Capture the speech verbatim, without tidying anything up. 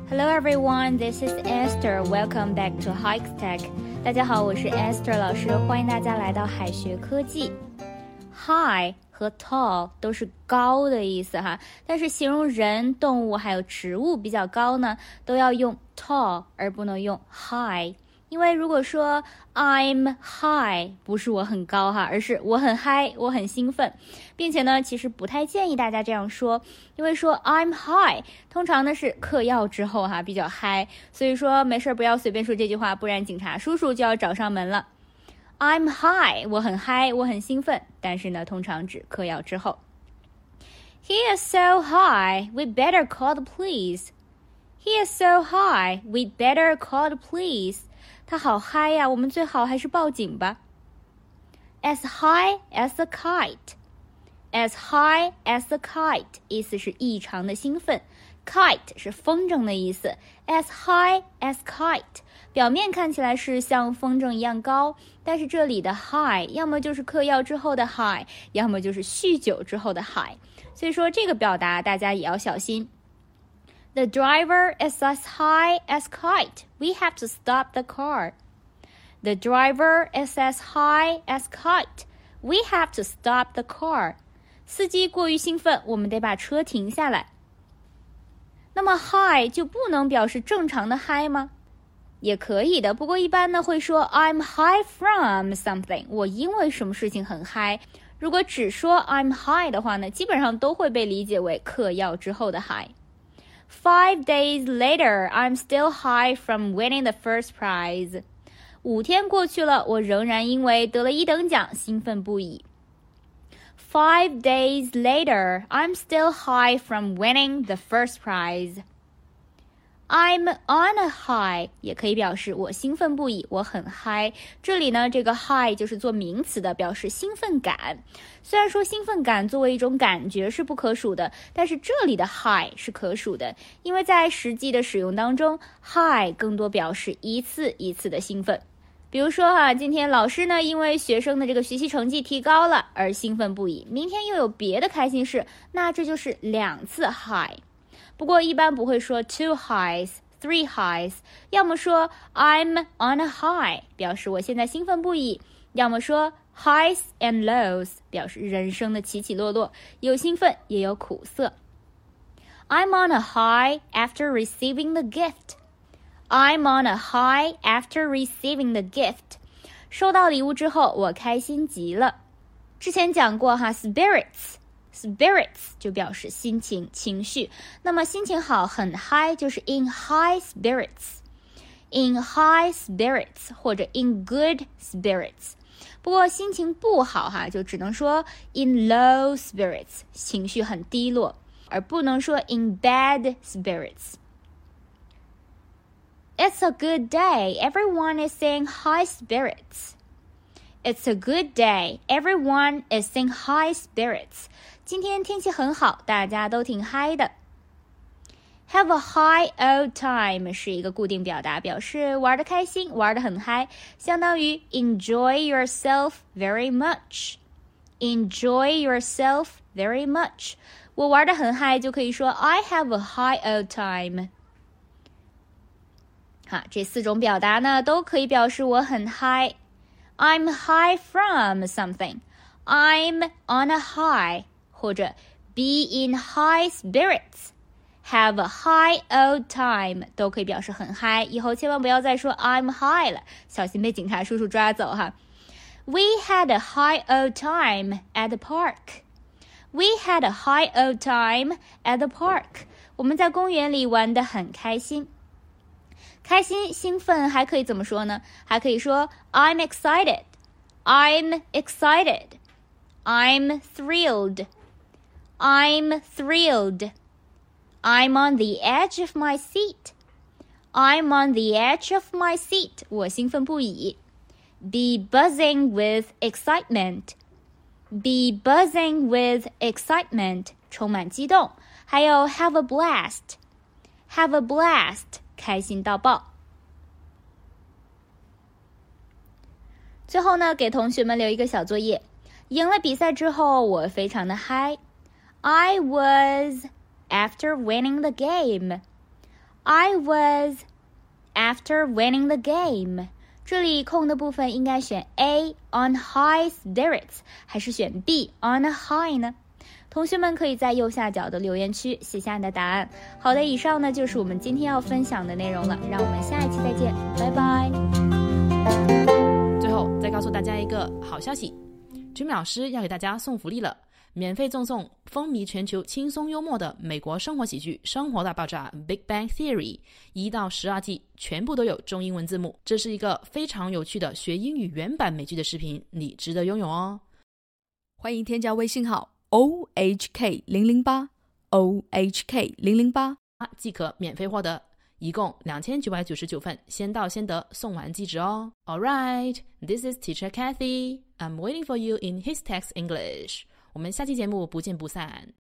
Hello everyone, this is Esther. Welcome back to Hikes Tech. 大家好，我是 Esther 老师，欢迎大家来到海学科技。High 和 tall 都是高的意思哈，但是形容人、动物还有植物比较高呢，都要用 tall 而不能用 high。因为如果说 I'm high 不是我很高哈，而是我很嗨，我很兴奋，并且呢其实不太建议大家这样说，因为说 I'm high 通常呢是嗑药之后哈比较嗨，所以说没事不要随便说这句话，不然警察叔叔就要找上门了。I'm high 我很嗨，我很兴奋，但是呢通常指嗑药之后。 He is so high, we better call the police. He is so high, we better call the police. 他好嗨呀，我们最好还是报警吧。 As high as a kite. As high as a kite 意思是异常的兴奋， kite 是风筝的意思。 As high as kite 表面看起来是像风筝一样高，但是这里的 high 要么就是嗑药之后的 high， 要么就是酗酒之后的 high， 所以说这个表达大家也要小心。The driver is as high as kite. We have to stop the car. The driver is as high as kite. We have to stop the car. 司机过于兴奋，我们得把车停下来。那么 high 就不能表示正常的嗨吗？也可以的，不过一般呢会说 I'm high from something. 我因为什么事情很嗨。如果只说 I'm high 的话呢，基本上都会被理解为嗑药之后的嗨。Five days later, I'm still high from winning the first prize. 五天过去了，我仍然因为得了一等奖兴奋不已。Five days later, I'm still high from winning the first prize. I'm on a high 也可以表示我兴奋不已，我很嗨。这里呢，这个 high 就是做名词的，表示兴奋感。虽然说兴奋感作为一种感觉是不可数的，但是这里的 high 是可数的，因为在实际的使用当中 high 更多表示一次一次的兴奋。比如说啊，今天老师呢因为学生的这个学习成绩提高了而兴奋不已，明天又有别的开心事，那这就是两次 high。不过一般不会说 two highs, three highs， 要么说 I'm on a high 表示我现在兴奋不已，要么说 highs and lows 表示人生的起起落落，有兴奋也有苦涩。 I'm on a high after receiving the gift. I'm on a high after receiving the gift. 收到礼物之后我开心极了。之前讲过哈 spirits Spirits 就表示心情、情绪，那么心情好很嗨就是 in high spirits, in high spirits 或者 in good spirits。 不过心情不好哈，就只能说 in low spirits 情绪很低落，而不能说 in bad spirits。 It's a good day, everyone is in high spirits. It's a good day, everyone is in high spirits。今天天气很好，大家都挺嗨的。 Have a high old time 是一个固定表达，表示玩得开心，玩得很嗨，相当于 enjoy yourself very much. Enjoy yourself very much. 我玩得很嗨就可以说 I have a high old time. 好，这四种表达呢都可以表示我很嗨。 I'm high from something. I'm on a high.或者 be in high spirits, have a high old time 都可以表示很嗨，以后千万不要再说 I'm high 了，小心被警察叔叔抓走哈。We had a high old time at the park. We had a high old time at the park. 我们在公园里玩得很开心。开心、兴奋还可以怎么说呢？还可以说 I'm excited. I'm excited. I'm thrilled.I'm thrilled. I'm on the edge of my seat. I'm on the edge of my seat. 我兴奋不已。Be buzzing with excitement. Be buzzing with excitement. 充满激动。还有 have a blast. Have a blast. 开心到爆。最后呢，给同学们留一个小作业。赢了比赛之后，我非常的嗨。I was after winning the game. I was after winning the game。这里空的部分应该选 A on high spirits 还是选 B on a high 呢？同学们可以在右下角的留言区写下你的答案。好的，以上呢就是我们今天要分享的内容了，让我们下一期再见，拜拜。 最后再告诉大家一个好消息， Jimmy 老师要给大家送福利了，免费赠送风靡全球轻松幽默的美国生活喜剧《生活大爆炸》 Big Bang Theory 一到十二季全部都有中英文字幕，这是一个非常有趣的学英语原版美剧的视频，你值得拥有哦。 欢迎添加微信号 O H K 零零八 O H K 零零八即可免费获得，一共两千九百九十九份，先到先得，送完即止哦。Alright, this is Teacher Kathy. I'm waiting for you in His Text English. 我们下期节目不见不散。